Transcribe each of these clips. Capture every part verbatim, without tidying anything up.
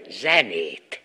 zenét.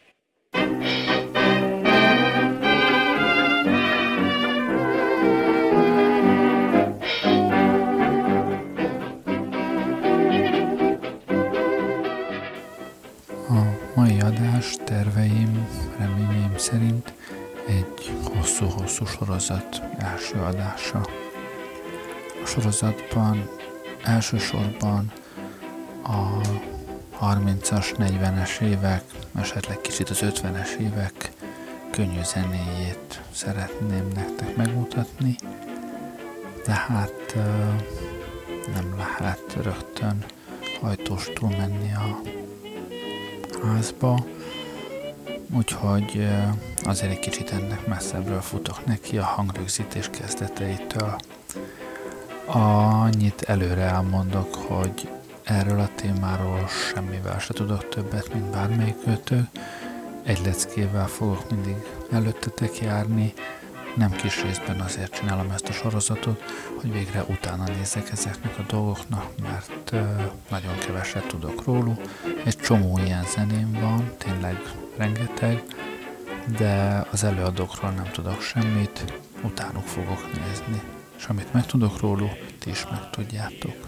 A mai adás terveim, reményeim szerint egy hosszú-hosszú sorozat első adása. A sorozatban elsősorban a harmincas, negyvenes évek, esetleg kicsit az ötvenes évek könnyű zenéjét szeretném nektek megmutatni, de hát nem lehet rögtön hajtóstul menni a házba, úgyhogy azért egy kicsit ennek messzebbről futok neki a hangrögzítés kezdeteitől. Annyit előre elmondok, hogy erről a témáról semmivel se tudok többet, mint bármelyikőtök. Egy leckével fogok mindig előttetek járni, nem kis részben azért csinálom ezt a sorozatot, hogy végre utána nézzek ezeknek a dolgoknak, mert uh, nagyon keveset tudok róluk. Egy csomó ilyen zeném van, tényleg rengeteg, de az előadókról nem tudok semmit, utánuk fogok nézni. És amit meg tudok róluk, ti is meg tudjátok.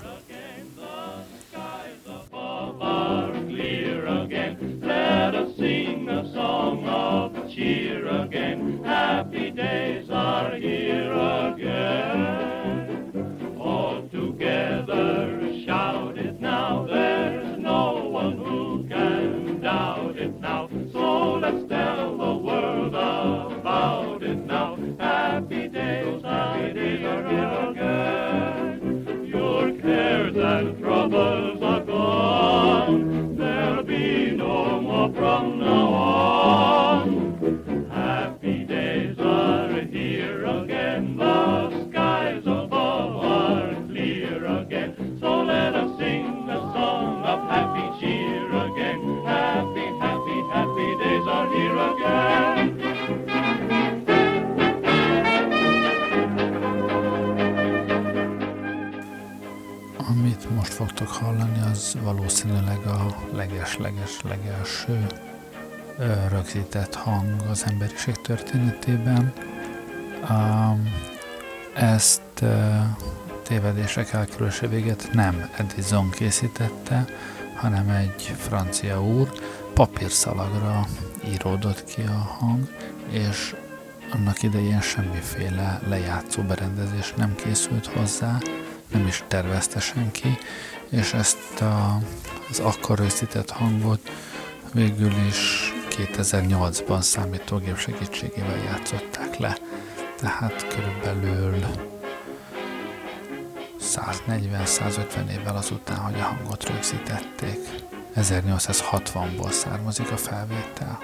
Cheer again, happy days are here again. All together shout it now, there's no one who can doubt it now. So let's tell the world about it now. Happy days, happy days are here again. Your cares and troubles are gone, there'll be no more from now on. Amit most fogtok hallani, az valószínűleg a leges-leges legelső rögzített hang az emberiség történetében. Ezt tévedések elkerülése véget nem Edison készítette, hanem egy francia úr. Papírszalagra íródott ki a hang, és annak idején semmiféle lejátszó berendezés nem készült hozzá, nem is tervezte senki, és ezt a, az akkor rögzített hangot végül is kétezer-nyolcban számítógép segítségével játszották le. Tehát körülbelül száznegyven-százötven évvel azután, hogy a hangot rögzítették. ezernyolcszázhatvanból származik a felvétel.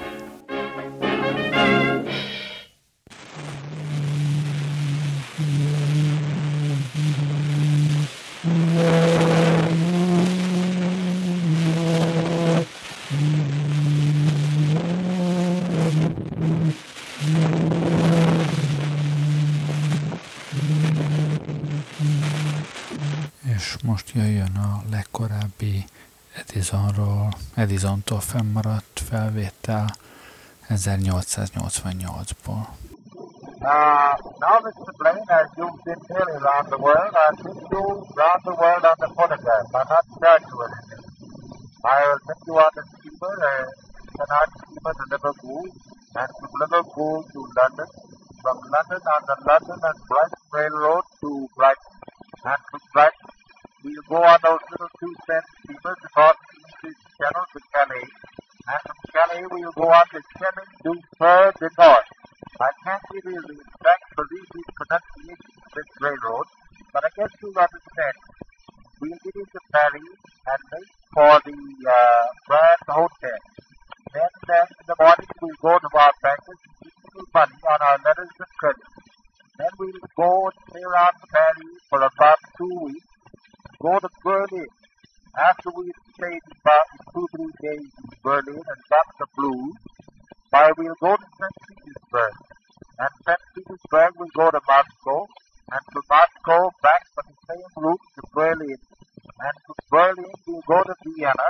És most jöjjön a legkorábbi Edisonról, Edisontól fennmaradt felvétel ezernyolcszáznyolcvannyolcból. Uh, now, Mister Blaine, as you've been hearing around the world, I'll take you around the world on the phonograph. I'm not graduate in it. I'll take you on the steamer, a canal steamer to Liverpool, and from Liverpool to London, from London on the London and Brighton Railroad to Brighton, and from Brighton we'll go on those little two-cent steamers across the English Channel to Calais, and from Calais we'll go on to Chemin du Fer du Nord. I can't give you the exact Parisian pronunciation of this railroad, but I guess you'll understand. We'll get into Paris and make for the uh, Grand Hotel. Then, then in the morning we'll go to our bankers and keep a little money on our letters of credit. Then we'll go and stay around Paris for about two weeks, go to Berlin. After we've stayed about two, three days in Berlin and got the blues, why we'll go to Saint Petersburg. And Saint Petersburg we'll go to Moscow, and from Moscow back by the same route to Berlin. And from Berlin we'll go to Vienna,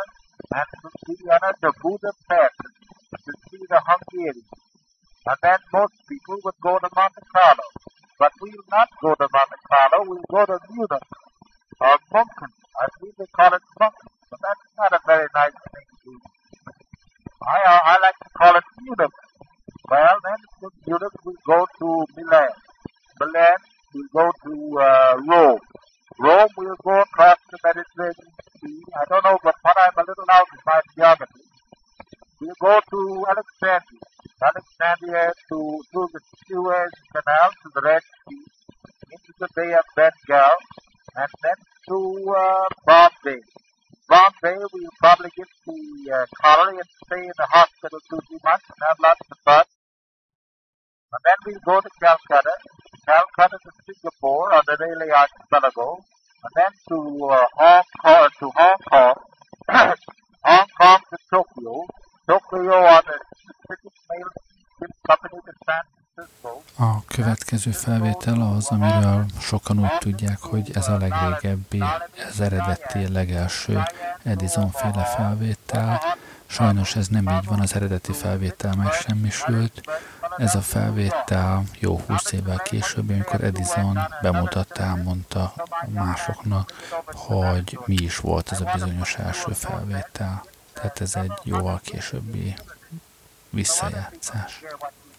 and to see another Budapest, to see the Hungarian. And then most people would go to Monte Carlo. But we'll not go to Monte Carlo, we'll go to Munich or Munchen. I think they call it Munchen, but that's not a very nice thing to do. I, uh, I like to call it Munich. Well, then from Munich we'll go to Milan. Milan, we'll go to uh, Rome. Rome, we'll go across the Mediterranean Sea. I don't know, but when I'm a little out in my geography, we'll go to Alexandria. Alexandria to through the Suez Canal to the Red Sea, into the Bay of Bengal, and then to uh, Bombay. Bombay, we'll probably get the uh, colony and stay in the hospital two, three months and have lots of fun. And then we'll go to Calcutta, Calcutta to Singapore on the Malay Archipelago, and then to uh, Hong Kong, to Hong Kong, Hong Kong to Tokyo, Tokyo on the Pacific Mail Company to San Francisco. A következő felvétel az, amiről sokan úgy tudják, hogy ez a legrégebbi, ez eredeti, legelső Edison-féle felvétel. Sajnos ez nem így van, az eredeti felvétel megsemmisült. Ez a felvétel jó húsz évvel később, amikor Edison bemutatta, elmondta másoknak, hogy mi is volt ez a bizonyos első felvétel. Tehát ez egy jóval későbbi visszajátszás.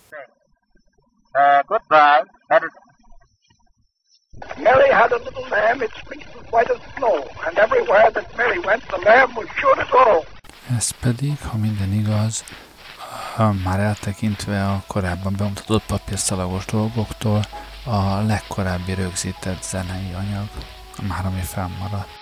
Uh, goodbye. Mary had a little lamb, its feet was white as snow, and everywhere that Mary went, the lamb was sure to go. Ez pedig, ha minden igaz, már eltekintve a korábban bemutatott papírszalagos dolgoktól, a legkorábbi rögzített zenei anyag, már ami fennmaradt.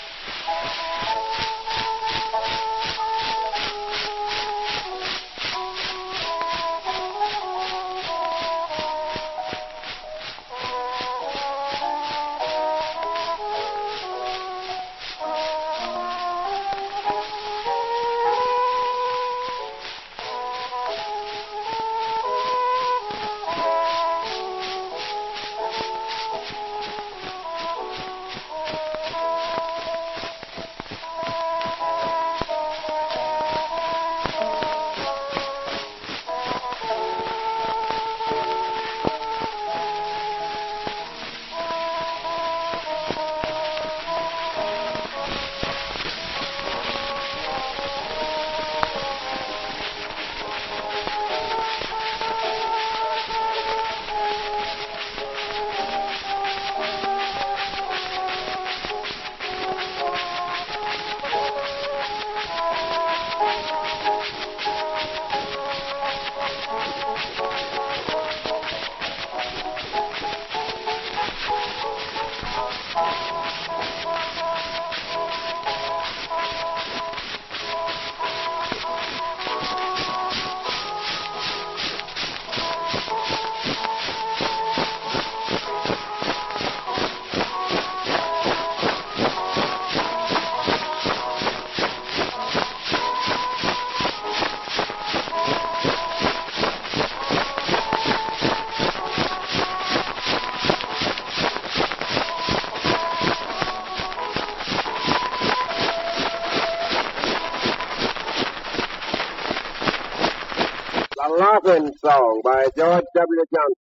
Laughing Song by George W. Johnson.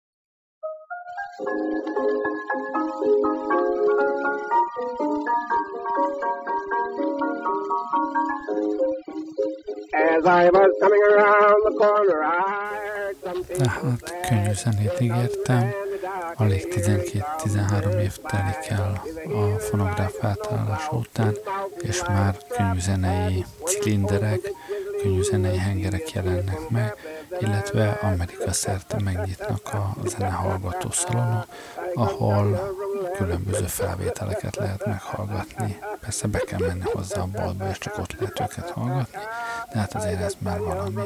As I was coming around the corner, I heard something. Tehát könnyű zenét ígértem, alig tizenkét-tizenhárom év telik el a fonográf átállása után, és már könnyű zenei cilinderek, könnyű zenei hengerek jelennek meg, illetve Amerika szerte megnyitnak a zenehallgató szalonok, ahol különböző felvételeket lehet meghallgatni. Persze be kell menni hozzá a boltba, és csak ott lehet őket hallgatni, de hát azért ez már valami.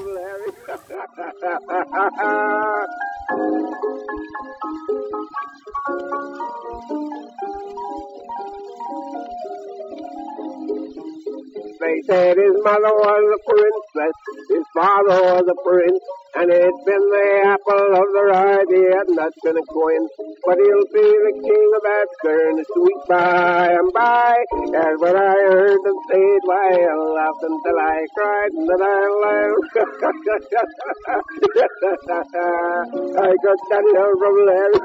They said his mother was a princess, his father was a prince, And it's been the apple of their eye, they had not been a coin. But he'll be the king of Atchern, sweet by and by. As what I heard them say it, why I laughed until I cried, and then I laughed. I got that hill from Larry.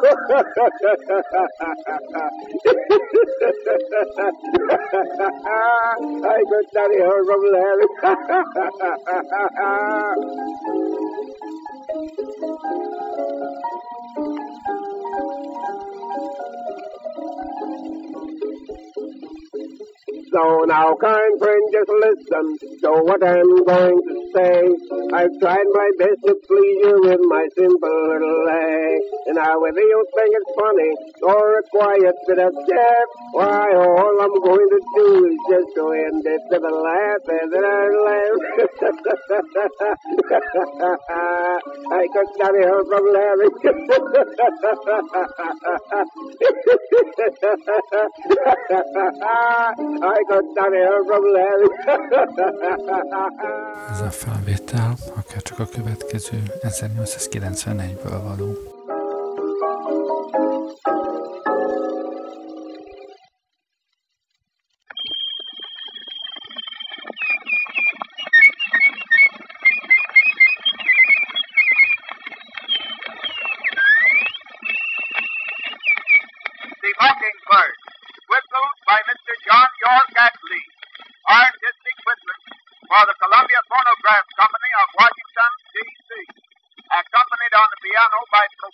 I got that hill from Larry. So now, kind friend, just listen to what I'm going to say. I've tried my best to please you with my simple little lay. And now whether you think it's funny or a quiet bit of chaff, why, all I'm going to do is just go end it with a laugh, and then I laugh. I got that here from Larry. I got that here from Larry. Ez a felvétel akár csak a következő ezernyolcszázkilencvenegyből való. The Mockingbird, whistled by Mister John York Ashley, artistic whistling for the Columbia Phonograph Company of Washington, D C, accompanied on the piano by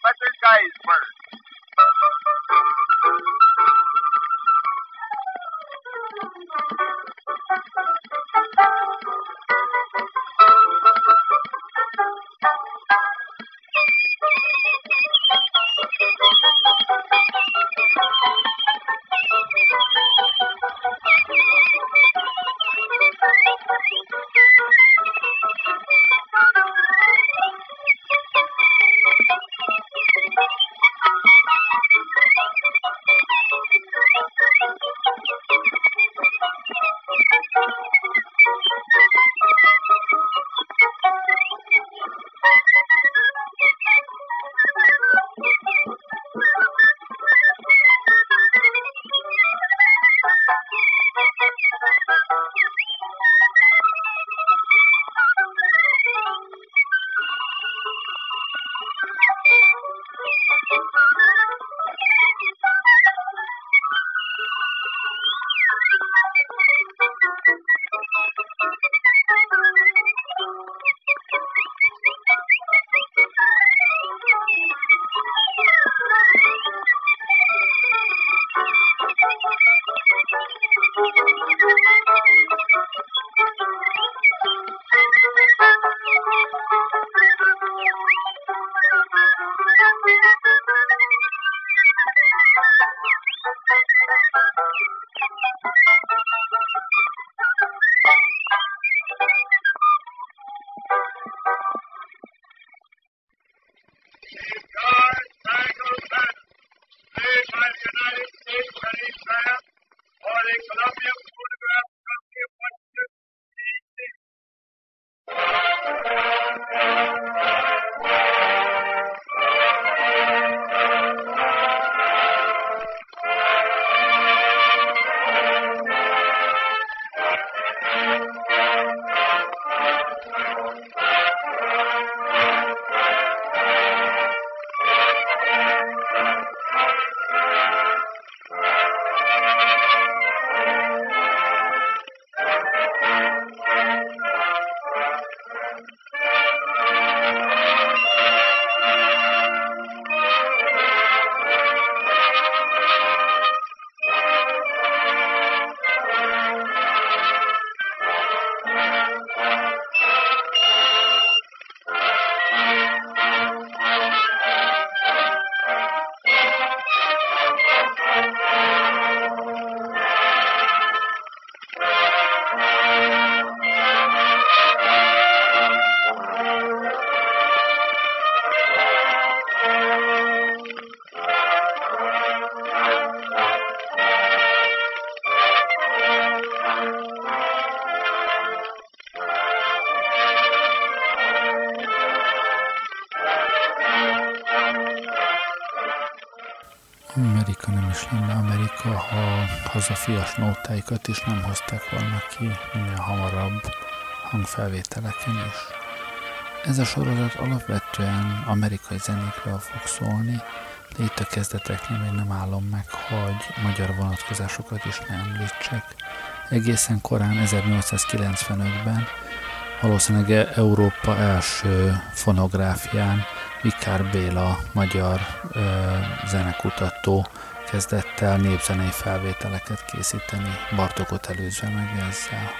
Amerika nem is lenne Amerika, ha hazafias nótáikat is nem hozták volna ki minél hamarabb hangfelvételeken is. Ez a sorozat alapvetően amerikai zenékről fog szólni, de itt a kezdeteknél még nem állom meg, hogy magyar vonatkozásokat is ne említsek. Egészen korán ezernyolcszázkilencvenötben, valószínűleg Európa első fonográfián Vikár Béla, magyar ö, zenekutató kezdett el népzenei felvételeket készíteni, Bartókot előzve meg ezzel.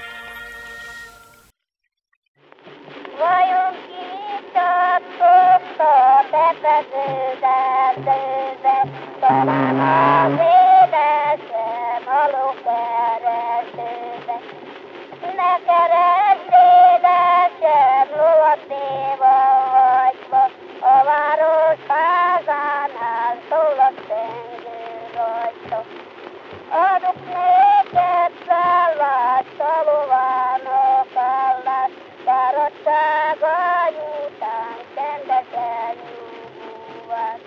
Vajon kitartott a befedőzerdőbe, talán az édesem alókeresőbe. Ne keresd, édesem, lovatéva hagyva, a város házánál szól a szengő rajta. Adok néked szállást, a lovának állást, fáradtságány után csendesen nyugvás.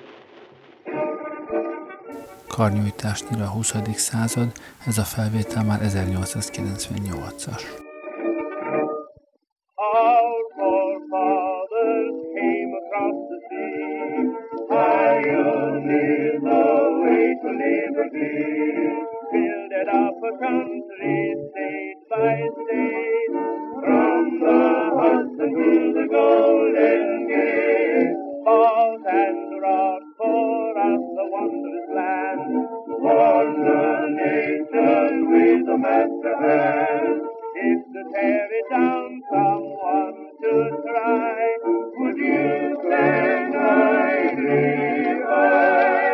Karnyújtásnyira a huszadik század, ez a felvétel már ezernyolcszázkilencvennyolcas. Our forefathers came across the sea, pioneered the way to liberty, builded up a country state by state, from the Hudson to the Golden Gate, fought and wrought for us a wondrous land, for the nation with a master hand. If to tear it down someone should try, would you stand idly by?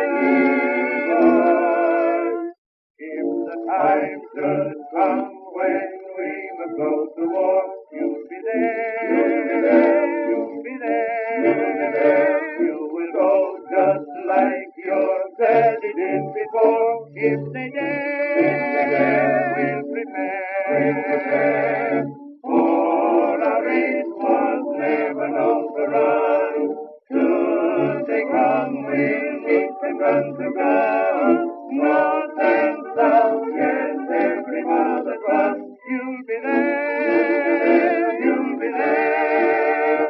If the time should come when we must go to war, you'll be there, you'll be there, you will go just like your daddy did before. If they dare, we'll prepare. For our race was never known to run. Should they come, we'll meet and run to ground. North and south, yes, every mile that runs. You'll be there, you'll be there.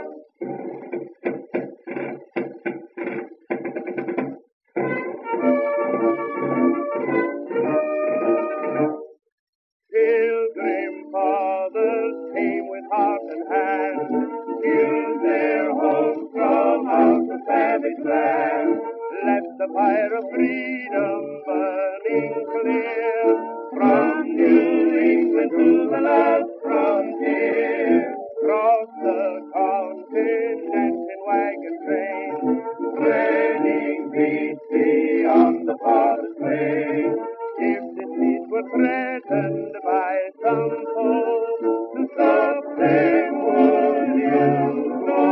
Pilgrim fathers came with heart and hand, killed their homes from out the savage land, left the fire of freedom burning clear, from New England to the last frontier, crossed the continent in wagon trains, threading peace beyond the farthest plain. If this peace were threatened by some foe, to stop them would you go?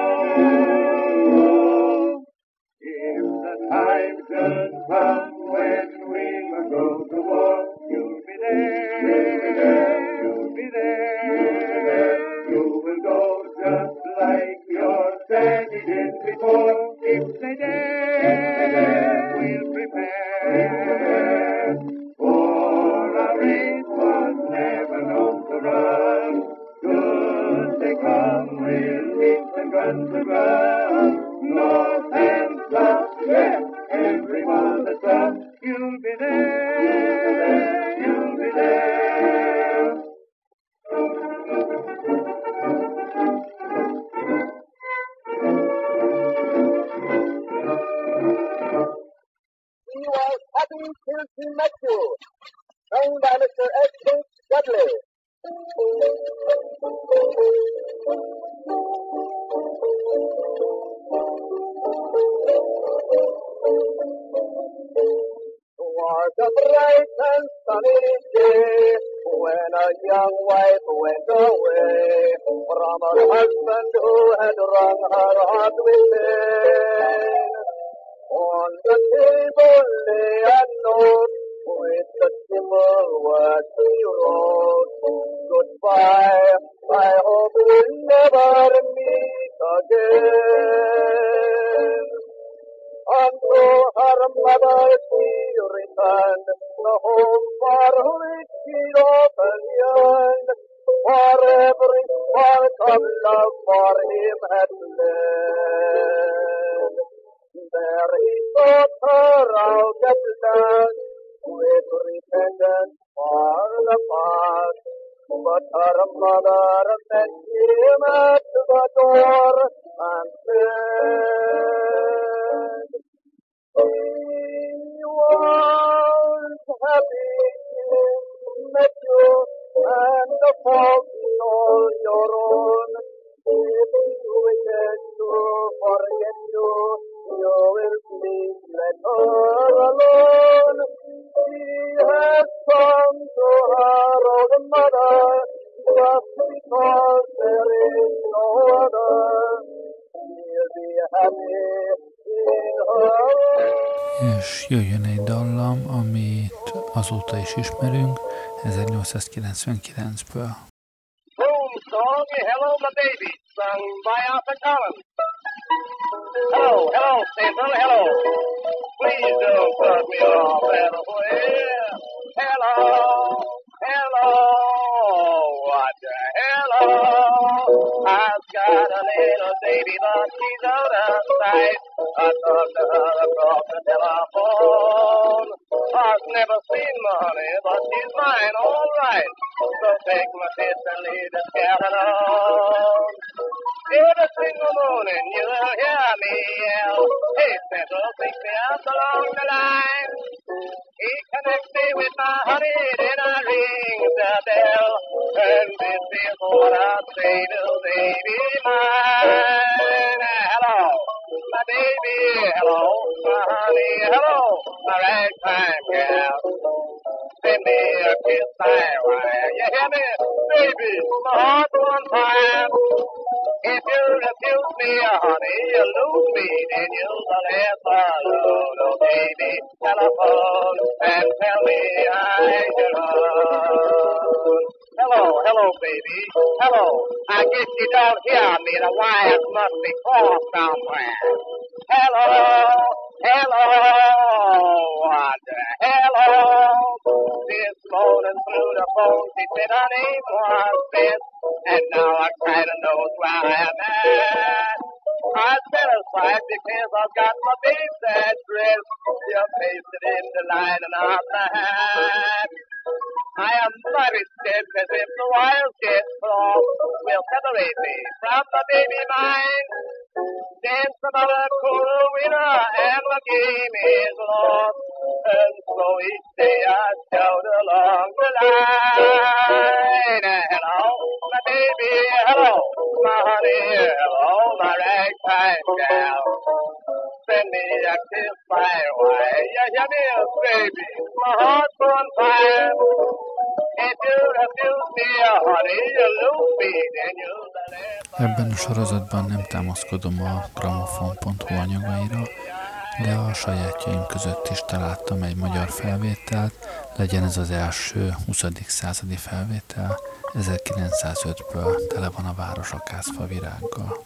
If the time should come when we must go to war, you'll be there, you'll be there. You will go just like your daddy did before. If they dare, we'll prepare. For our race was never known to run. Should they come, we'll meet and run to ground. North and south, yes, everyone that's up, you'll be there, you'll be there. He was happy till he met you, sung by Mister S. H. Dudley. Was a bright and sunny day when a young wife went away from her husband who had wrung her heart within. On the table lay a note with the simple words he wrote. Goodbye, I hope we'll never meet again. Unto her her mother she returned, the home for which she'd often yearned, for every spark of love for him had fled. There he sought her out at last, with repentance for the past. But her mother met him at the door and said, he was happy met you, and the fault is all your own. If you wish to forget you, you will please let her alone. She has come to her old mother, just because there is no other. She'll be happy in her. És jöjjön egy dallam, amit azóta is ismerünk, ezernyolcszázkilencvenkilencből. Home song, Hello My Baby, sung by Arthur Collins. Hello, hello, Santa, hello. Please don't cut me off that way. Hello, hello, what the hello? I've got a little baby, but she's out of sight. I talked to her across the telephone. I've never seen money, but she's mine, all right. So take my kiss and leave the cat alone. Every single morning you'll hear me yell, hey, Santa, pick me up along the line. He connects me with my honey, then I ring the bell. And this is what I say to baby mine. Hello, my baby, hello, my honey, hello, my ragtime gal. Send me a kiss, I wire. You hear me, baby? My heart's on fire. If you refuse me, honey, you lose me, then you'll the last alone. Oh, baby, telephone and tell me I should run. Hello, hello, baby. Hello. I guess you don't hear me. The wires must be crossed somewhere. Hello, hello, what the hello? This morning through the phone, she said her name was Beth, and now I kinda knows where I'm at. I'm satisfied because I've got my baby's address. You pasted in the lining of the hat. I am very scared because if the wires get crossed, will separate me from the baby mine. Then some other cool winner and the game is lost. And so each day I shout along the line. Hello, my baby, hello, my honey, hello, my ragtime gal. Send me a kiss my way. You hear me, baby? My heart's on fire. If you refuse me, honey, you lose me, then you'll Ebben a sorozatban nem támaszkodom a gramofon pont hu anyagaira, de a sajátjaim között is találtam egy magyar felvételt, legyen ez az első huszadik századi felvétel, ezerkilencszázötből, tele van a város akácfa virággal.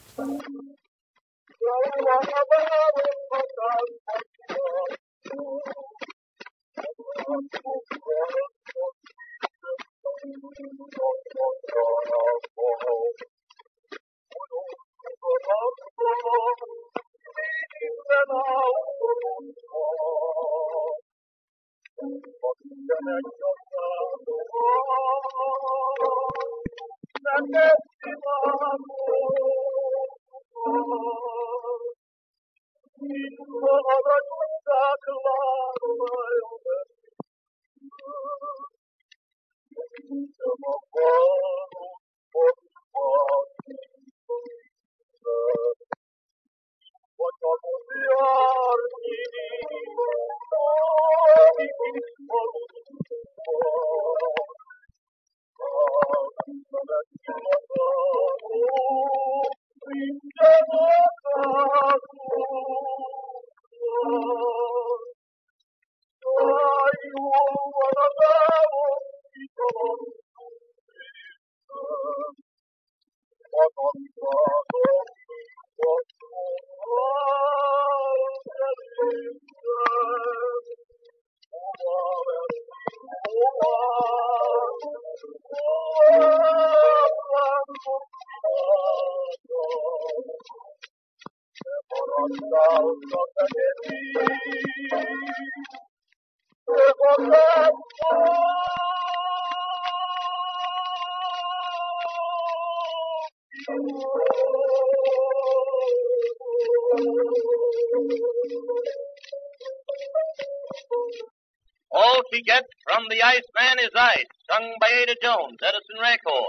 All she gets from the Iceman is ice, sung by Ada Jones, Edison Record.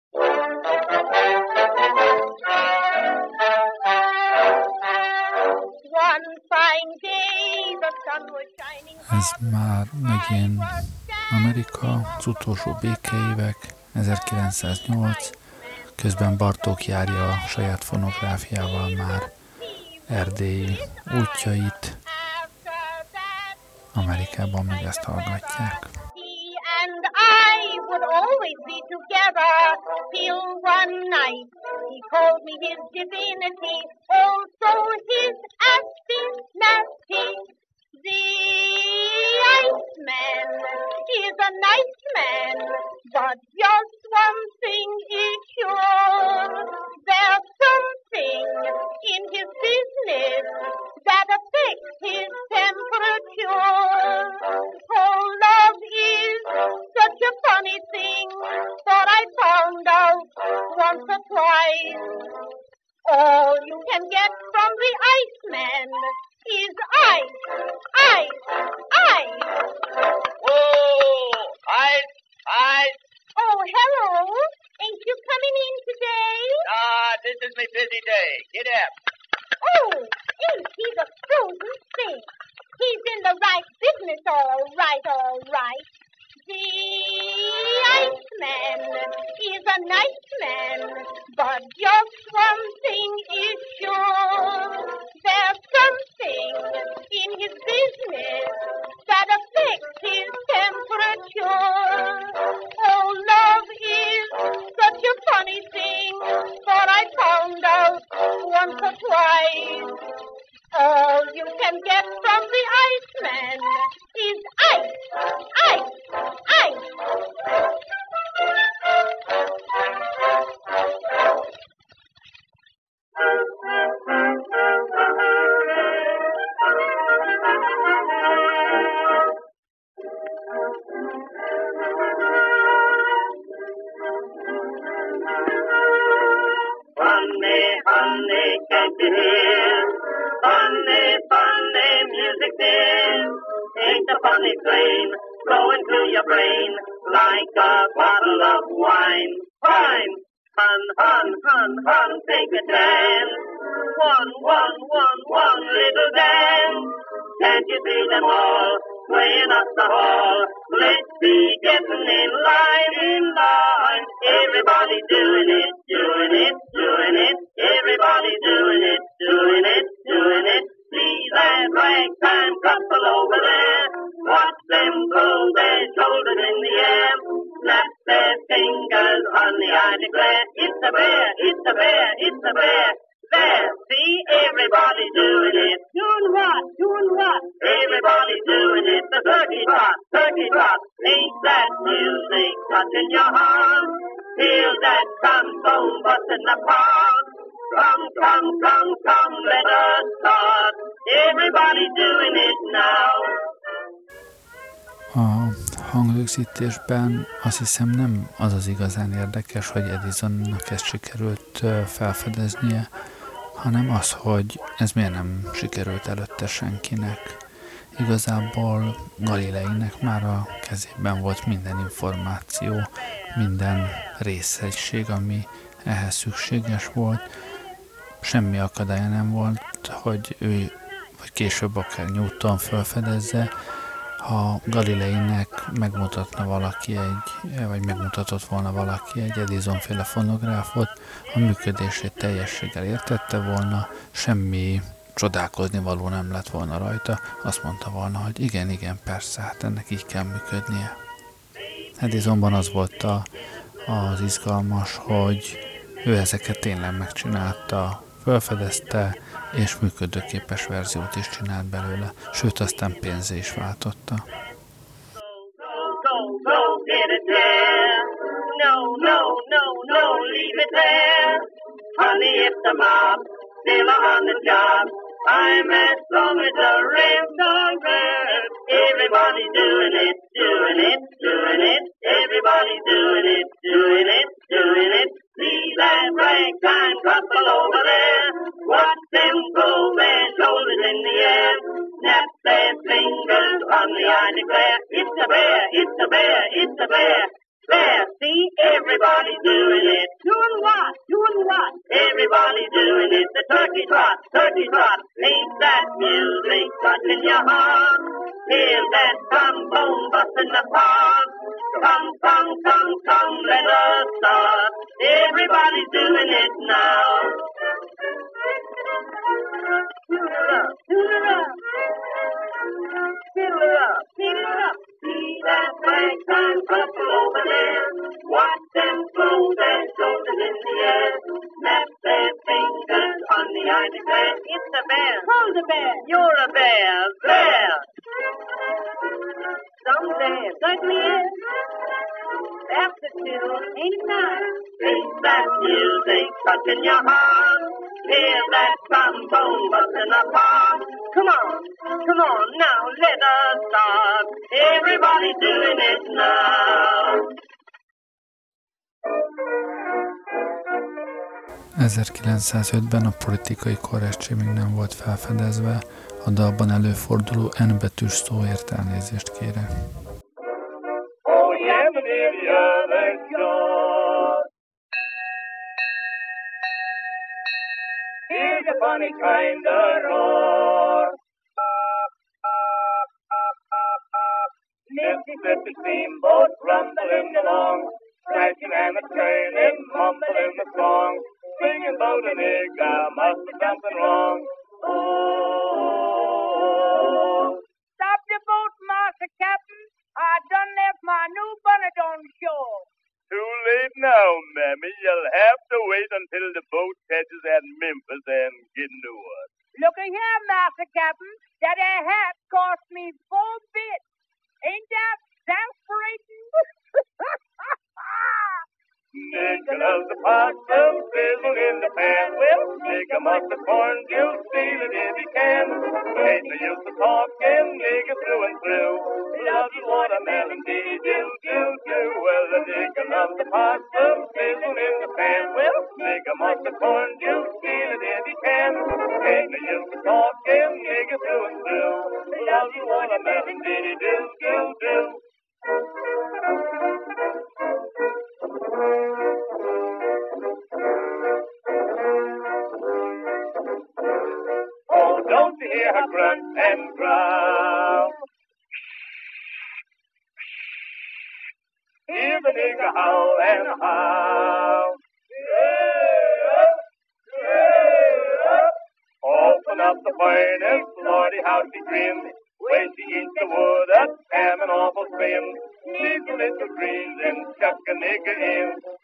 One fine day the sun was shining Ez már megint Amerika, az utolsó békeévek, ezerkilencszáznyolc, közben Bartók járja a saját fonográfiával már erdélyi útjait, Amerikában meg ezt hallgatják. and I would always be together till one night he called me his divinity, also his astinity. The Iceman is a nice man, but just one thing is sure. There's something in his business that affects his temperature. Oh, love is such a funny thing, thought I found out once or twice. All you can get from the Iceman is ice, ice, ice. Whoa! Ice! Ice! Oh, hello. Ain't you coming in today? Ah, this is my busy day. Get up. Oh, ain't he the frozen thing? He's in the right business, all right, all right. The Iceman is a nice man, but just one thing is sure. There's something in his business that affects his temperature. Oh, love is such a funny thing, thought I found out once or twice. All you can get from the Iceman is ice, ice, ice. Funny, funny, can't you hear? Funny, funny music dear. Ain't a funny flame flowing through your brain like a bottle of wine. Fine, hun, hun, hun, hun, take a dance. One, one, one, one little dance. Can't you see them all swaying up the hall? Let's be getting in line, in line. Everybody doing it, doing it, doing it. Everybody doing it, doing it, doing it. See that ragtime couple over there. Watch them throw their shoulders in the air. Snap their fingers, honey, I declare. It's a bear, it's a bear, it's a bear. There, see everybody doing it. Doing what? Doing what? Everybody doing it. The turkey trot, turkey trot. Ain't that music touching your heart? Feel that trombone busting apart. Come, come, come, come, let us start. Everybody doing it now. A hangrögzítésben azt hiszem nem az az igazán érdekes, hogy Edisonnak ezt sikerült felfedeznie, hanem az, hogy ez miért nem sikerült előtte senkinek. Igazából Galileinek már a kezében volt minden információ, minden részegység, ami ehhez szükséges volt. Semmi akadálya nem volt, hogy ő, vagy később akár Newton felfedezze. Ha Galileinek megmutatna valaki egy, vagy megmutatott volna valaki egy Edison-féle fonográfot, a működését teljességgel értette volna, semmi csodálkozni való nem lett volna rajta, azt mondta volna, hogy igen, igen, persze, hát ennek így kell működnie. Edisonban az volt a, az izgalmas, hogy ő ezeket tényleg megcsinálta, felfedezte, és működőképes verziót is csinált belőle, sőt aztán pénzé is váltotta. No, no, no, no, leave it there. Honey, if the mob still on the job, I'm as long as the rest of us. Everybody doing it, doing it, doing it. Everybody doing it, doing it, doing it. See that ragtime couple over there. Watch them throw their shoulders in the air. Snap their fingers on the eye declare. It's a bear, it's a bear, it's a bear. There, see, everybody doing it. Doing what? Doing what? Everybody doing it. The turkey trot, turkey trot. Ain't that music touching your heart? Hear that trombone busting the park. Come, come, come, come, let us start. Everybody's doing it now. Tune it up, tune it up. Fiddle it up, fiddle it up. See that ragtime couple over there. Watch them throw their shoulders in the air. Snap their fingers on the eye declare. It's a bear. Who's a bear? You're a bear. Bear. Some bear. Certainly is. That's the tune. Ain't it nice? Ain't that music touching your heart? Hear that trombone busting apart. Come on, come on, now let us start. Everybody doing it now. ezerkilencszázötben a politikai korrektség még nem volt felfedezve, a dalban előforduló N betűs szóért elnézést kérek. Oh, yeah, but if you're the shore, here's a funny kind of roar. Mississippi steamboat rumbling along, crashing and a turning, mumbling the song, singing about a nigga, must be something wrong. Oh, Stop the boat, Master Captain. I done left my new bonnet on shore. too late now, Mammy. You'll have to wait until the boat catches at Memphis and get new one. Look here, Master Captain. That air hat cost me four bits. Ain't that exasperating? Nigga loves the possum, sizzle in the pan. Well, nigga must have corn juice, steal it if he can. Ain't no use of talking, nigga through and through. Loves his watermelon, dee do do do. Well, the nigga loves the possum, sizzle in the pan. Well, nigga must have corn juice, steal it if he can. Ain't no use of talking, nigga through and through. Loves his watermelon, dee do do do. Oh, don't you hear her grunt and growl? Hear the nigger howl and howl. Open up the furnace, Lordy, how she grinned. When she eats the wood up, ham and awful thin. Sneeze a little greens and chuck a nigger in.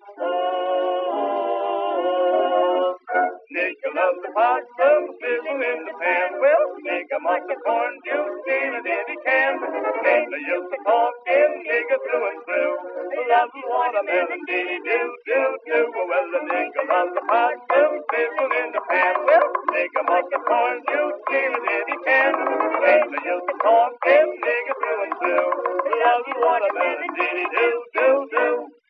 Oh, nigger loves the possum, sizzle in the pan. Well, nigger must have corn juice, steal it if he can. Ain't no use of talking, nigger through and through. Loves the watermelon, dee do do do. Well, the nigger loves the possum, sizzle in the pan. Well, nigger must have corn juice, steal it if he can. Ain't no use of talking, nigger through and through. Loves the watermelon, dee do do do.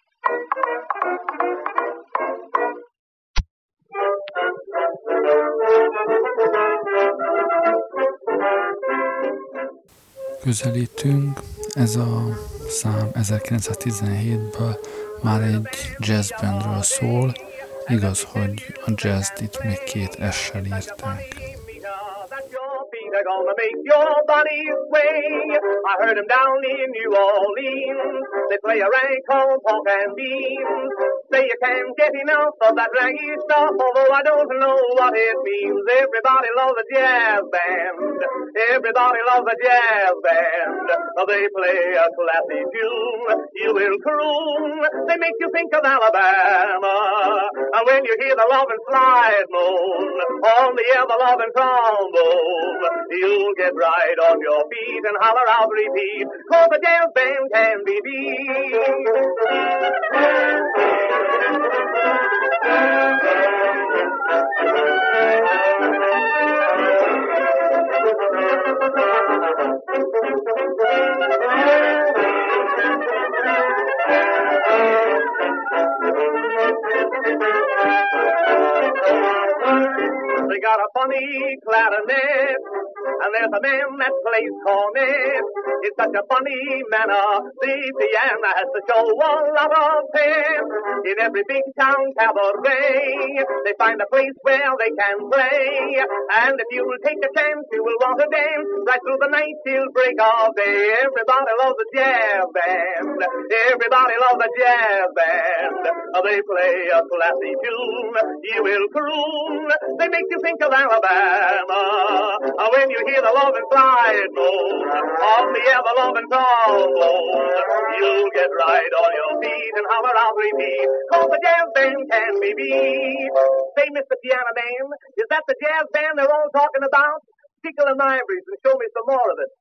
Közelítünk, ez a szám ezerkilencszáztizenhétből már egy jazzbandről szól, igaz, hogy a jazzt itt még két S-sel írták. They're gonna make your body sway. I heard them down in New Orleans. They play a rag called pork and beans. Say you can't get enough of that raggy stuff, although I don't know what it means. Everybody loves a jazz band. Everybody loves a jazz band. They play a classy tune. You will croon. They make you think of Alabama. And when you hear the lovin' slide moan on the ever lovin' trombone, you'll get right on your feet and holler out repeat, 'cause the jazz band can be beat. they got a funny clarinet, and there's a man that plays cornet. It's such a funny manner. The piano has to show a lot of pep. In every big town cabaret, they find a place where they can play. And if you will take a chance, you will want to dance right through the night till break of day. Everybody loves a jazz band. Everybody loves a jazz band. They play a classy tune. You will croon. They make you think of Alabama. When you hear the loving side note of the ever-loving trombone, you'll get right on your feet and holler out repeat, 'cause the jazz band can be beat. Say, Mister Piano Man, is that the jazz band they're all talking about? Tickle and ivories and show me some more of it.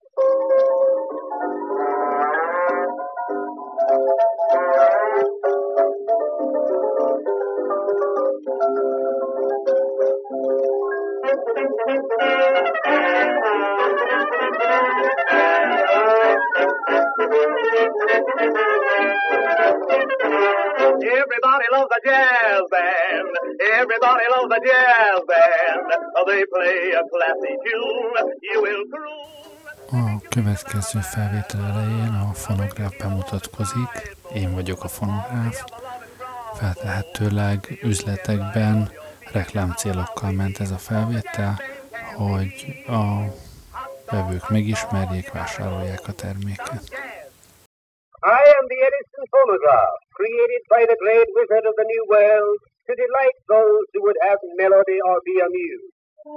Everybody loves a jazz band. Everybody loves a jazz band. They play a classy tune. You will croon. A következő felvétel elején a fonográf bemutatkozik. Én vagyok a fonográf. Feltehetőleg üzletekben reklámcélokkal ment ez a felvétel, hogy a vevők megismerjék, vásárolják a terméket. I am the Edison phonograph, created by the great wizard of the New World to delight those who would have melody or be amused.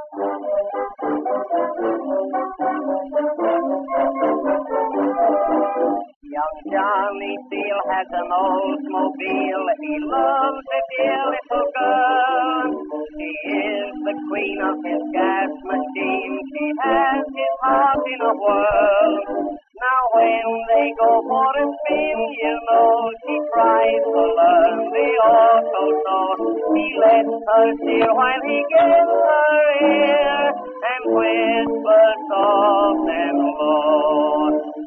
Young Johnny Steele has an Oldsmobile. He loves a dear little girl. She is the queen of his gas machine. She has his heart in a whirl. Now when they go for a spin, you know she tries to learn the auto tone. He lets her steer while he gets her ear and whispers soft and low.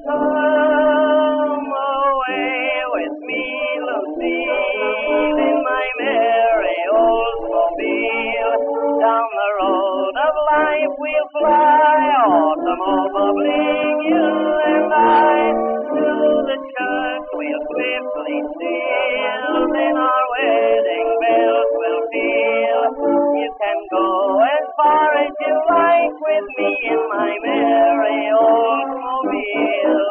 Come away with me, Lucille, in my merry Oldsmobile. Down the road of life we'll fly, automobiling you and I. Through the church we'll swiftly steal, then our wedding bells will peal. You can go as far as you like with me in my merry Oldsmobile.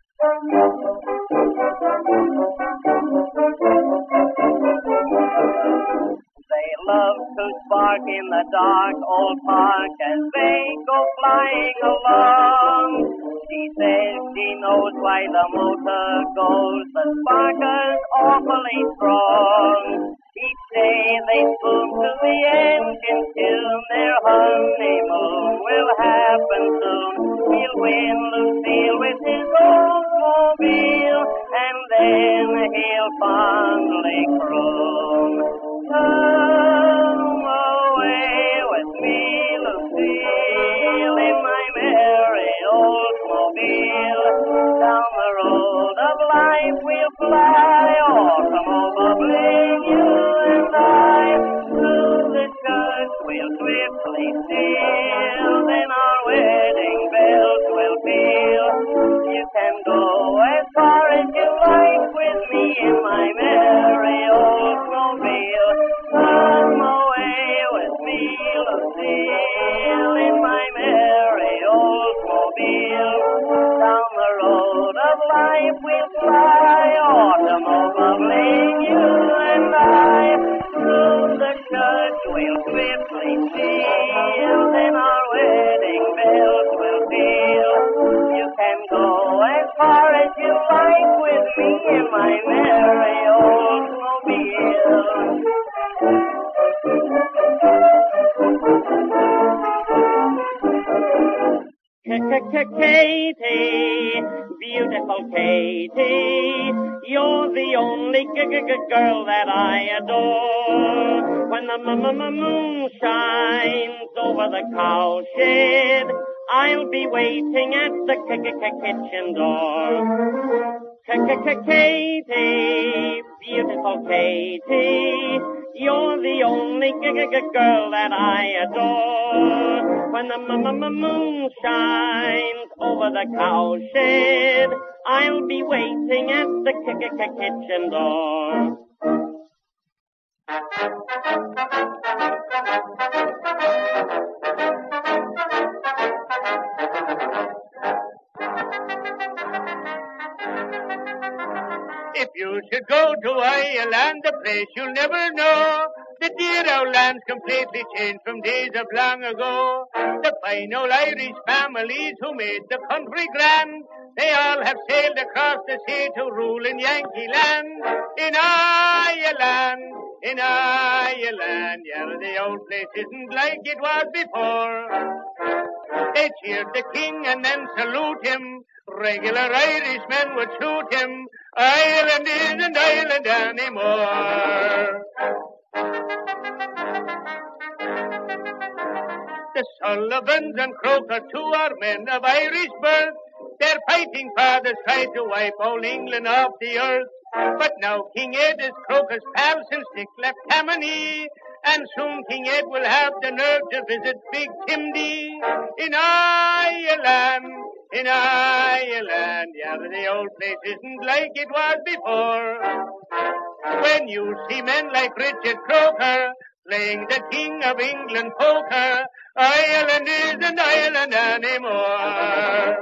They love to spark in the dark old park as they go flying along. She says she knows why the motor goes, the sparker's awfully strong. Each day they spoon to the engine tune, their honeymoon will happen soon. He'll win Lucille with his Oldsmobile, and then he'll fondly croon. Come away with me, Lucille, in my merry Oldsmobile. Down the road of life we'll fly, automobiling you and I. Through the church we'll swiftly steal, then our wedding bells will peal. You can go as far as you like with me in my merry Oldsmobile. Come away with me, Lucille, in my merry Oldsmobile. Down the road of life we'll fly, automobiling you and I. Through the church we'll swiftly steal, then our wedding bells will peal. You can go as far as you like with me in my merry Oldsmobile. Katie, beautiful Katie, you're the only girl that I adore. When the moon shines over the cowshed, I'll be waiting at the kitchen door. Katie, beautiful Katie, you're the only lovely g- g- g- girl that I adore. When the m- m- m- moon shines over the cowshed, I'll be waiting at the k- k- k- kitchen door. If you should go to Ireland, a place you'll never know, the dear old land's completely changed from days of long ago. The fine old Irish families who made the country grand, they all have sailed across the sea to rule in Yankee land. In Ireland, in Ireland, yeah, the old place isn't like it was before. They cheered the king and then salute him. Regular Irishmen would shoot him. Ireland isn't Ireland anymore. The Sullivans and Croker too are men of Irish birth. Their fighting fathers tried to wipe all England off the earth. But now King Ed is Croker's pal since Dick left Tammany. And soon King Ed will have the nerve to visit Big Timdy. In Ireland, in Ireland, yeah, the old place isn't like it was before. When you see men like Richard Croker playing the King of England poker, Ireland isn't Ireland anymore.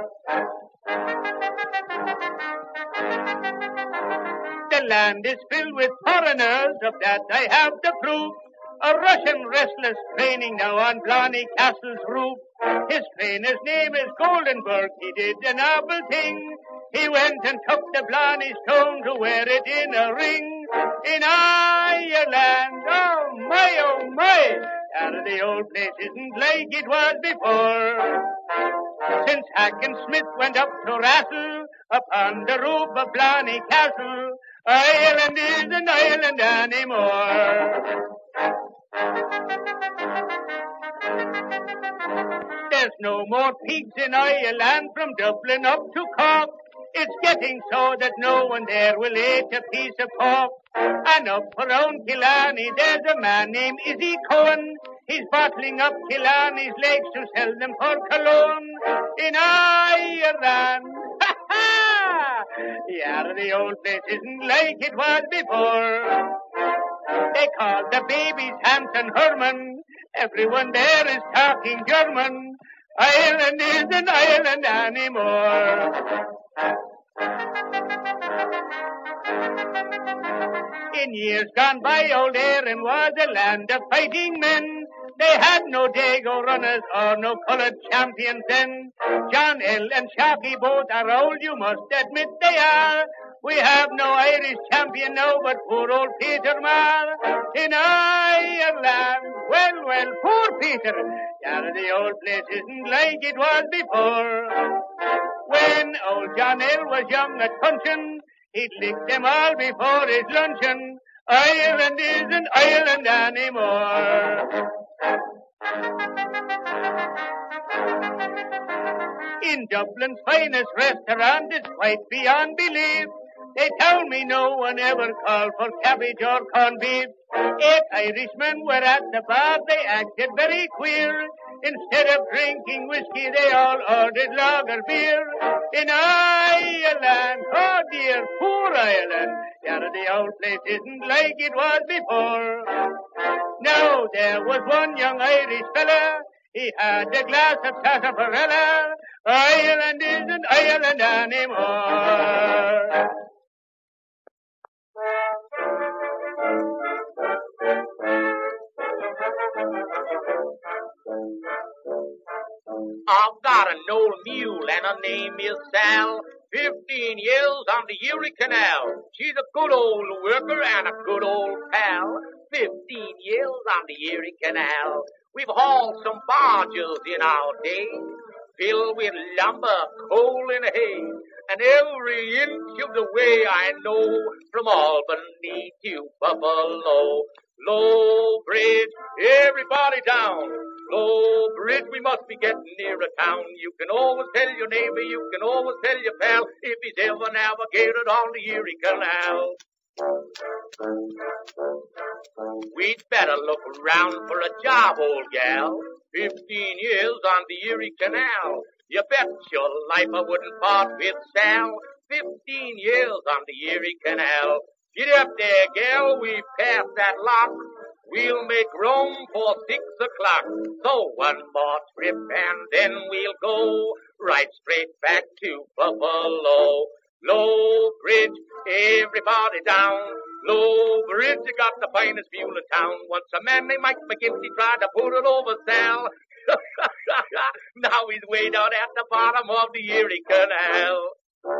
The land is filled with foreigners, of that I have the proof. A Russian wrestler's training now on Blarney Castle's roof. His trainer's name is Goldenberg. He did a novel thing. He went and took the Blarney stone to wear it in a ring. In Ireland, oh my, oh my, out of the old place isn't like it was before. Since Hacken Smith went up to wrestle upon the roof of Blarney Castle, Ireland isn't Ireland anymore. There's no more pigs in Ireland from Dublin up to Cork. It's getting so that no one there will eat a piece of pork. And up around Killarney there's a man named Izzy Cohen. He's bottling up Killarney's legs to sell them for cologne. In Ireland, ha ha! Yeah, the old place isn't like it was before. They call the babies Hans and Herman. Everyone there is talking German. Ireland isn't Ireland anymore. In years gone by, old Erin was a land of fighting men. They had no Dago runners or no coloured champions then. John L. and Sharkey both are old, you must admit they are. We have no Irish champion now but poor old Peter Marr. In Ireland, well, well, poor Peter. Yeah, the old place isn't like it was before. When old John L. was young at puncheon, he'd lick them all before his luncheon. Ireland isn't Ireland anymore. In Dublin's finest restaurant, it's quite beyond belief. They tell me no one ever called for cabbage or corned beef. Eight Irishmen were at the bar, they acted very queer. Instead of drinking whiskey, they all ordered lager beer. In Ireland, oh dear, poor Ireland, yeah, the old place isn't like it was before. Now, there was one young Irish fella, he had a glass of sarsaparilla. Ireland isn't Ireland anymore. I've got an old mule and her name is Sal. Fifteen years on the Erie Canal. She's a good old worker and a good old pal. Fifteen years on the Erie Canal. We've hauled some barges in our day, filled with lumber, coal, and hay. And every inch of the way I know, from Albany to Buffalo. Low Bridge, everybody down. Low Bridge, we must be getting near a town. You can always tell your neighbor, you can always tell your pal, if he's ever navigated on the Erie Canal. We'd better look around for a job, old gal. Fifteen years on the Erie Canal. You bet your life I wouldn't part with Sal. Fifteen years on the Erie Canal. Get up there, gal, we passed that lock. We'll make Rome for six o'clock. So one more trip and then we'll go right straight back to Buffalo. Low Bridge, everybody down. Low Bridge, you got the finest mule in town. Once a man named Mike McGinty tried to put it over Sal. Now he's way down at the bottom of the Erie Canal.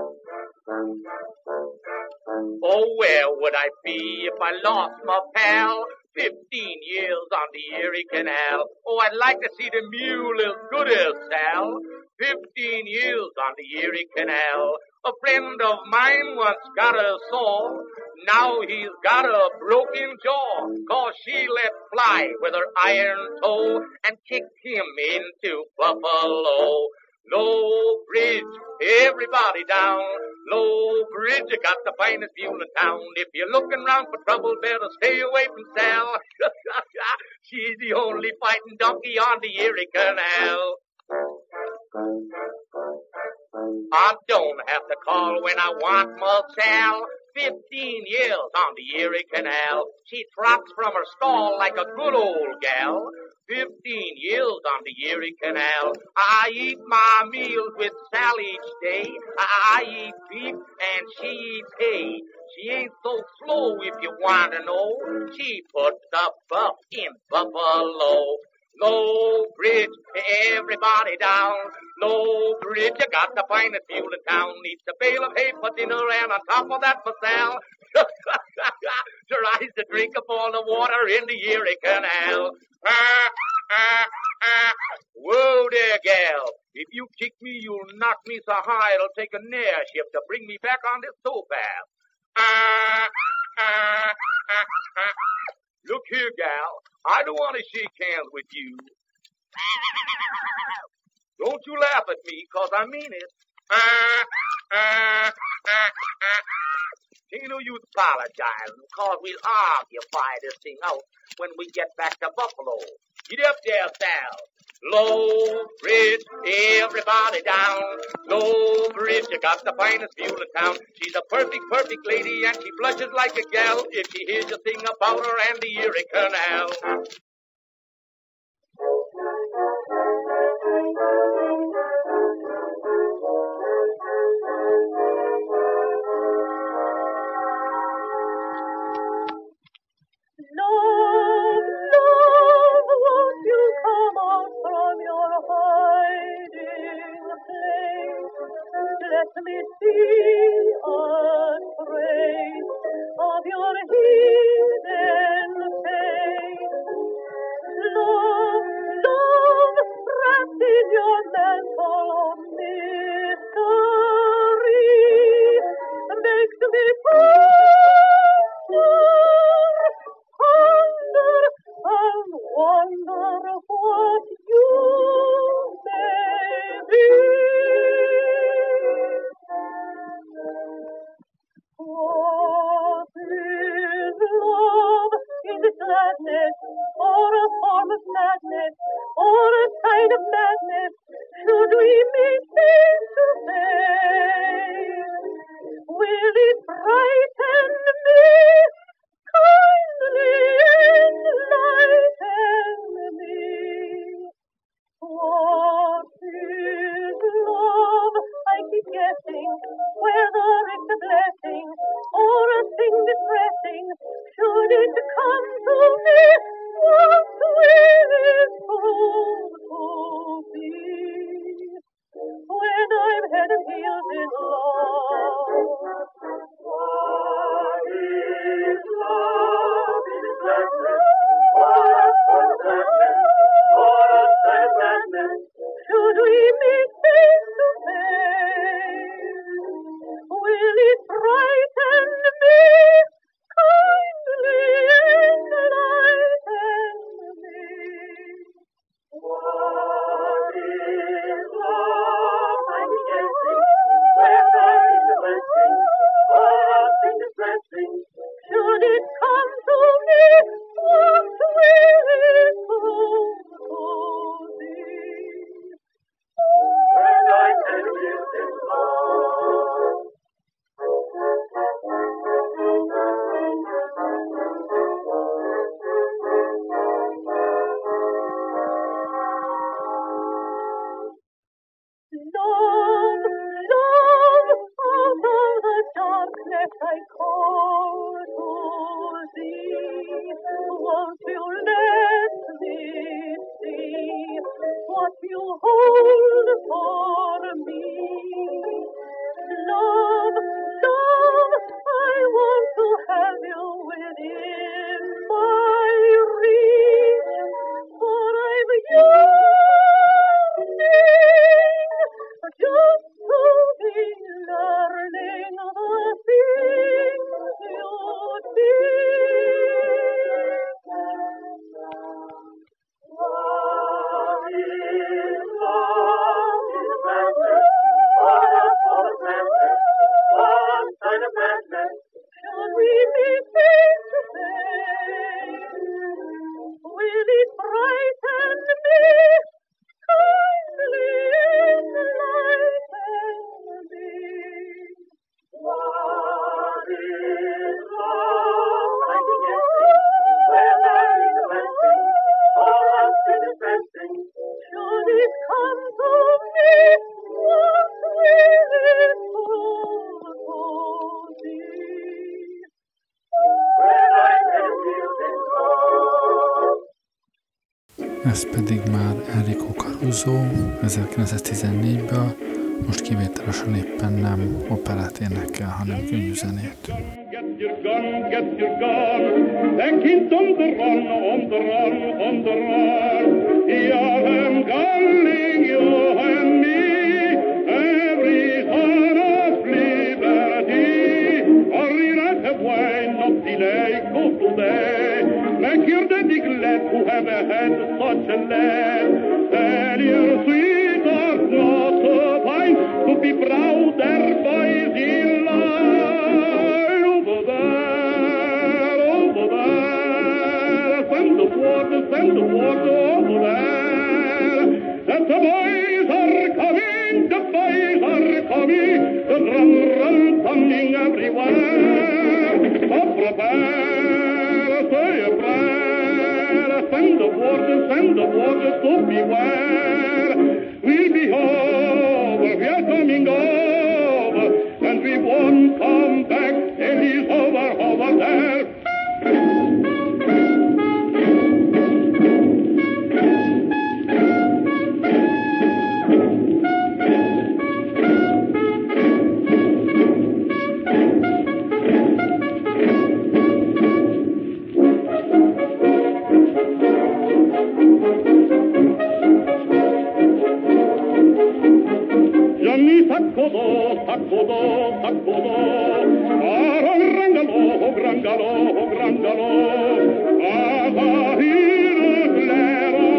Oh, where would I be if I lost my pal? Fifteen years on the Erie Canal. Oh, I'd like to see the mule as good as Sal. Fifteen years on the Erie Canal. A friend of mine once got a sore. Now he's got a broken jaw. Cause she let fly with her iron toe and kicked him into Buffalo. Low Bridge, everybody down. Low Bridge, you got the finest mule in town. If you're looking round for trouble, better stay away from Sal. She's the only fighting donkey on the Erie Canal. I don't have to call when I want my Sal. Fifteen years on the Erie Canal. She trots from her stall like a good old gal. Fifteen years on the Erie Canal. I eat my meals with Sal each day. I eat beef and she eats hay. She ain't so slow if you want to know. She puts the buff in Buffalo. Low Bridge, everybody down. Low Bridge, you got the finest mule in town. Needs a bale of hay for dinner and on top of that for Sal. Tries to drink up all the water in the Erie Canal. Ah, ah, ah. Whoa there, gal. If you kick me, you'll knock me so high it'll take an airship to bring me back on this towpath. Ah, ah, ah, ah. Look here, gal. I don't want to shake hands with you. Don't you laugh at me, 'cause I mean it. Ah, ah, ah, ah. Ain't no use apologizing, 'cause we'll argue this thing out when we get back to Buffalo. Get up there, Sal. Low Bridge, everybody down. Low Bridge, you got the finest mule in town. She's a perfect, perfect lady, and she blushes like a gal if she hears you sing about her and the Erie Canal. Love, love, won't you come out from your hiding place? Let me see a trace of your hidden face. Love, love, wrapped in your mantle of mystery, makes me ponder, ponder, and wonder what you may be. What is love? Is it gladness, or a form of madness, or a kind of madness? Should we meet face to face? Will it brighten me, kindly enlighten me? What is love? I keep guessing whether it's a blessing or a thing distressing. Should it come to me, what will it prove to be? you hold for me. Love, love, I want to have you within my reach, for I'm yearning just to be learning the things you teach. What is love? Is madness? What a sort of madness? What kind of madness? Should we be face to face? Will it frighten me? Kindly enlighten me. What is love? I can guess it. Where there is a blessing, all us is distressing. Should it come to me, what will it prove to thee? When I can feel this love. Ez pedig már Enrico Caruso ezerkilencszáztizennégyből, most kivételesen éppen nem operát énekel, hanem könyvzenét. Get your gun, get your gun. The kid's on the run, on the run, on the run. Yeah, I'm calling you and me. Every son of liberty. Hurry, right away, not delay, go today. Make your daddy glad who have had such a lad. Tell your sweetheart not to find to be proud their boys in line. Over there, over there, send the water, send the water over there. That the boys are coming, the boys are coming, the run, run, coming everywhere. So prepare, say a prayer, send the water, send the water to beware. We'll be over, we are coming over, and we won't come back till he's over, over there. Gianni Saccodo, Saccodo, Saccodo, Aro Grangalo, Grangalo, Grangalo, Azahir Clero,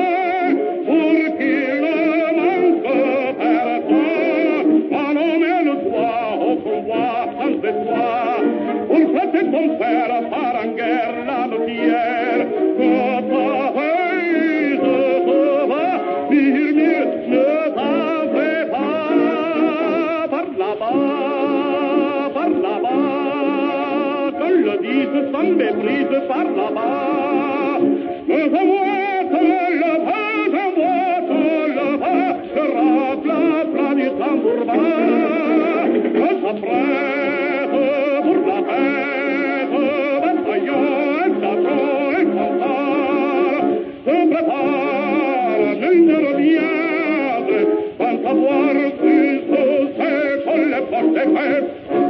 Urki le manque per toi, ma non me le toi, au pouvoir sans de toi, un frate ton père, Faranguer, la notière, Cota Heise, se va, Mirmir, ne t'en fais pas, par là-bas, par là-bas, que le dise sans méprise, par là-bas, je vois que le vent, je vois que le vent, se rappela, plat du tambour bas, que s'apprête pour la fête, bataillon, chapeau et cantar, se prépare, ne reviendra, sans savoir plus c'est qu'on les porte fait.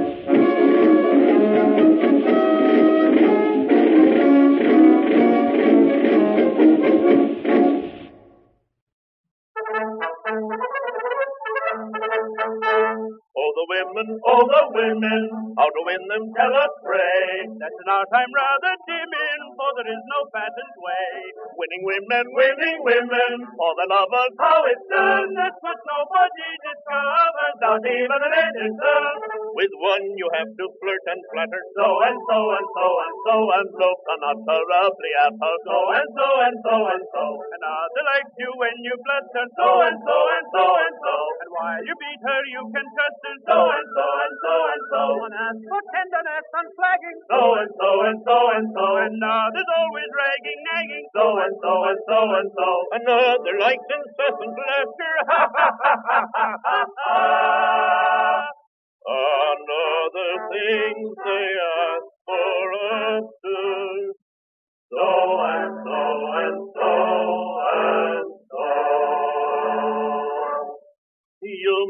Oh, the women, oh, the women, how to win them tell us pray. That's in our time rather dim in, for there is no patent way. Winning women, winning women, for the lovers, how it's done. That's what nobody discovers, not even an editor. With one you have to flirt and flatter, so and so and so and so and so, unutterably at her, so and so and so and so. Another likes you when you flutter, so and so and so and so. And while you beat her, you can trust her, so and so and so and so. One asks for tenderness unflagging, so and so and so and so. And others always ragging, nagging, so and so and so and so. Another likes incessant laughter, ha ha ha ha ha ha. Another things they ask for us to, so and so and so and so.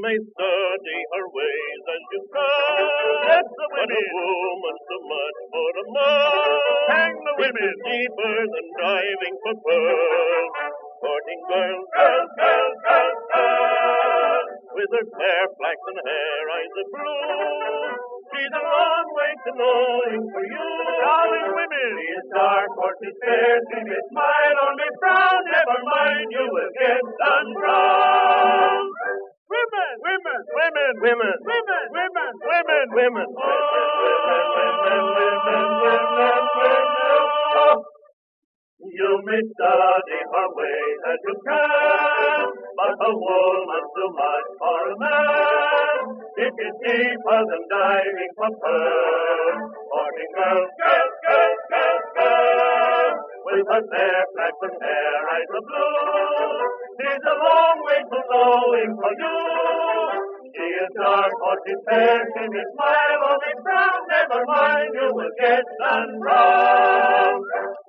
may study her ways as you can. Let the women. But a woman so much for a man. Hang the women. Deeper than diving for pearls. Courting girls, girls, girls, girls, girls. With her fair flaxen hair, eyes of blue. She's a long way to knowing for you. Darling women. She is dark or she's fair. She may smile or may frown. Never mind, you will get done brown. Women, women, women, women, women, women, women, women, women, women, women, women, women. You may study her ways as you can, but a woman too much for a man. If it's deeper than diving for pearls, courting girls, girls, girls, girls, girls, with her fair flaxen hair, eyes of blue. She's a long way to knowing for you. She is dark or she's fair, she may smile or may frown. Never mind, you will get done brown.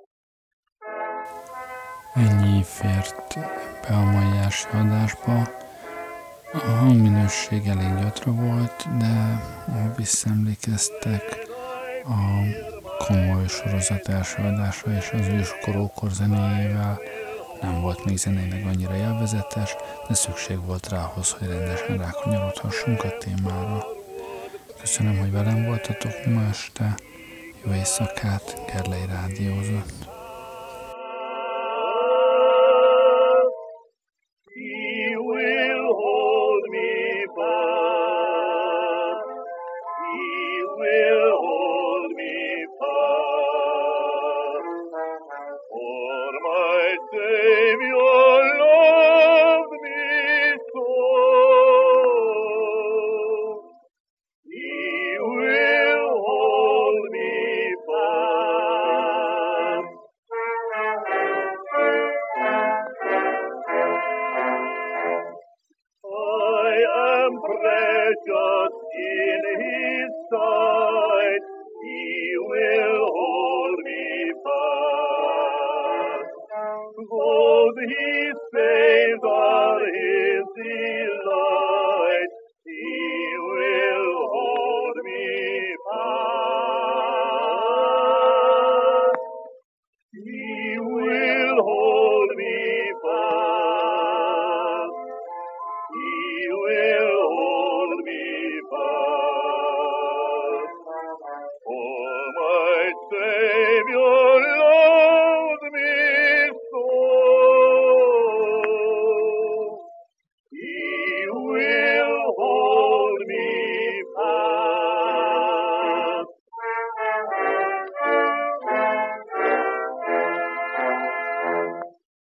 Ennyi fért be a mai első adásba. A hangminőség elég gyatra volt, de ha visszaemlékeztek, a komoly sorozat első adása és az őskorúkor zenéjével nem volt még zeneileg annyira élvezetes, de szükség volt rá ahhoz, hogy rendesen rákanyarodhassunk a témára. Köszönöm, hogy velem voltatok ma este. Jó éjszakát, Gerlei rádiózott. He saves our